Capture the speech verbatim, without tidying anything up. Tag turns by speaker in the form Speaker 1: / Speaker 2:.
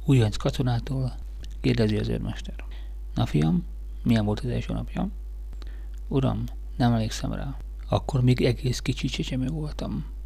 Speaker 1: Újonc katonától kérdezi az őrmester. Na fiam, milyen volt az első napja? Uram, nem emlékszem rá. Akkor még egész kicsi csecsemő voltam.